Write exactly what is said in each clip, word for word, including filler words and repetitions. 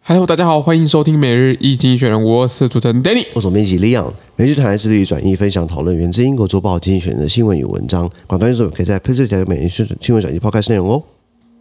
Hello， 大家好，歡迎收聽每日一經濟學人，我是主持人 Danny， 我是總編輯 Leon。每日團隊致力於轉譯、分享、討論源自英國週報《經濟學人》的新聞與文章。廣大聽眾可以在 PressPlay 加入每日新聞轉譯 Podcast 內容哦。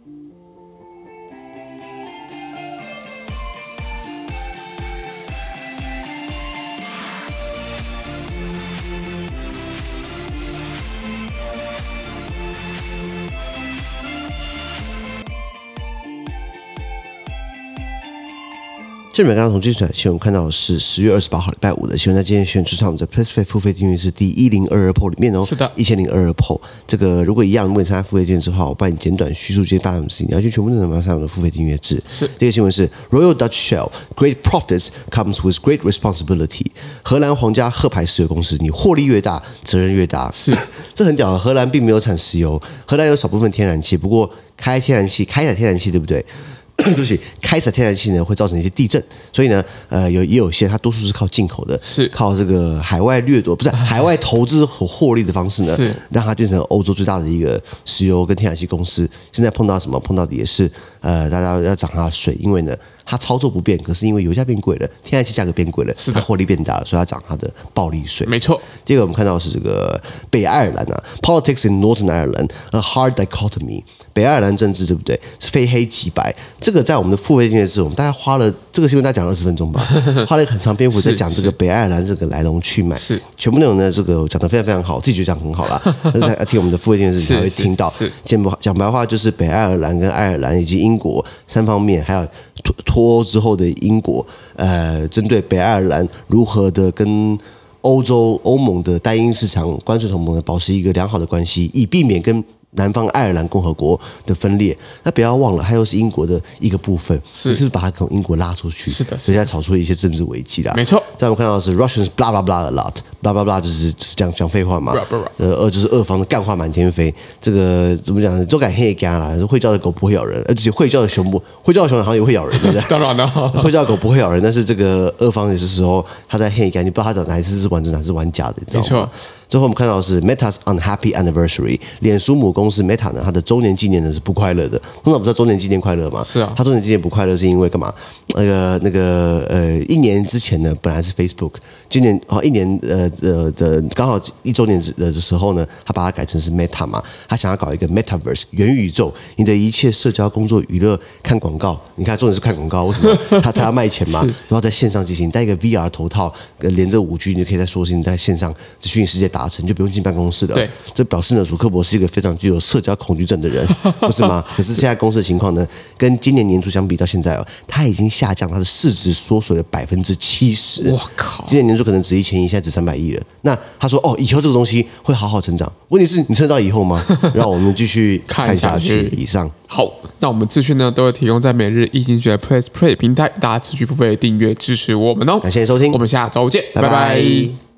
這裡面剛剛從經濟傳新聞看到的是十月二十八號禮拜五的新聞，在今天選出我們的 PressPlay 付費訂閱是第一千零二十二 鋪裡面哦，是的，一千零二十二 鋪。這個如果一樣，如果你參加付費訂閱制的話，我幫你簡短敘述這些大事情，你要去全部內容上我們的付費訂閱制。是這個新聞是 Royal Dutch Shell Great Profits comes with great responsibility。荷蘭皇家赫牌石油公司，你獲利越大，責任越大。是這很屌，荷蘭並沒有產石油，荷蘭有少部分天然氣，不過開天然氣開採天然氣對不對？對不起，開採天然氣呢會造成一些地震，所以呢，呃，有也有一些它多數是靠進口的，是靠這個海外掠奪，不是海外投資和獲利的方式呢，是讓它變成歐洲最大的一個石油跟天然氣公司。現在碰到什麼？碰到的也是呃，大家要漲它的稅，因為呢，它操作不變，可是因為油價變貴了，天然氣價格變貴了，是它獲利變大了，所以它漲它的暴利稅。沒錯。第二個我們看到的是這個北愛爾蘭啊 ，Politics in Northern Ireland a hard dichotomy。北愛爾蘭政治對不對？是非黑即白。這個在我們的付費訂閱制，我們大概花了這個新聞大概講了二十分鐘吧，花了一個很長篇幅在講這個北愛爾蘭這個來龍去脈。是全部內容呢，這個講得非常非常好，我自己覺得講很好啦。但是在聽我們的付費訂閱制才會聽到。講講白話就是北愛爾蘭跟愛爾蘭以及英國三方面，還有脫脫歐之後的英國，呃，針對北愛爾蘭如何的跟歐洲歐盟的單一市場關稅同盟保持一個良好的關係，以避免跟南方愛爾蘭共和國的分裂。那不要忘了，它又是英國的一個部分，是是不是把它從英國拉出去？是的，所以現在炒出了一些政治危機啦。沒錯，在我們看到的是 Russians blah blah blah a lot，blah blah blah 就是就是講講廢話嘛，呃，二就是俄方的幹話滿天飛。這個怎麼講？都敢黑幹啦，會叫的狗不會咬人，而且會叫的熊不會叫的熊好像也會咬人，對不對？當然了，會叫的狗不會咬人，但是這個俄方有些時候他在黑幹，你不知道他哪一次是玩真，哪是玩假的，你知道嗎？最後我們看到的是 Meta's unhappy anniversary， 臉書母公司 Meta 呢，它的周年紀念呢是不快樂的。通常不是周年紀念快樂嗎？是啊，它周年紀念不快樂是因為幹嘛？那個那個呃，一年之前呢，本來是 Facebook， 今年哦一年呃呃的剛好一周年的時候呢，他把它改成是 Meta 嘛，他想要搞一個 Metaverse 元宇宙，你的一切社交、工作、娛樂、看廣告，你看重點是看廣告，為什麼？他他要賣錢嘛，然後在線上進行，戴一個 V R 頭套，連着五 G，你就可以在說是你在線上虛擬世界達成，就不用進辦公室了。對，這表示呢，祖克伯是一個非常具有社交恐懼症的人，不是嗎？可是現在公司的情況呢，跟今年年初相比到現在哦，他已經下降，他的市值縮水了百分之七十。我靠！今年年初可能值一千億，現在值三百億了。那他說哦，以後這個東西會好好成長。問題是你撐到以後嗎？讓我們繼續看下去。以上好，那我們資訊呢都會提供在每日一經濟學人 PressPlay 平台，大家持續付費訂閱支持我們哦。 感謝收聽， 我們下周見，拜拜。 拜拜。